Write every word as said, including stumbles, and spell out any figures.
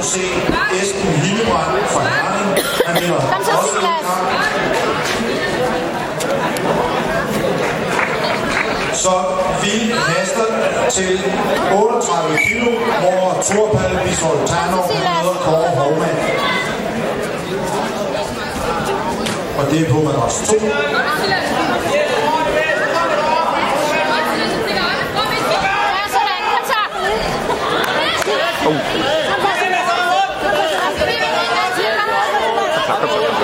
C Esben Hildebrand fra Herning. Han vinder ottende kamp. Så vi haster til otteogtredive kilo, hvor Thorpalle Bisvold Tarnov møder Kåre Hovmand. Og det er på madras to. Oh.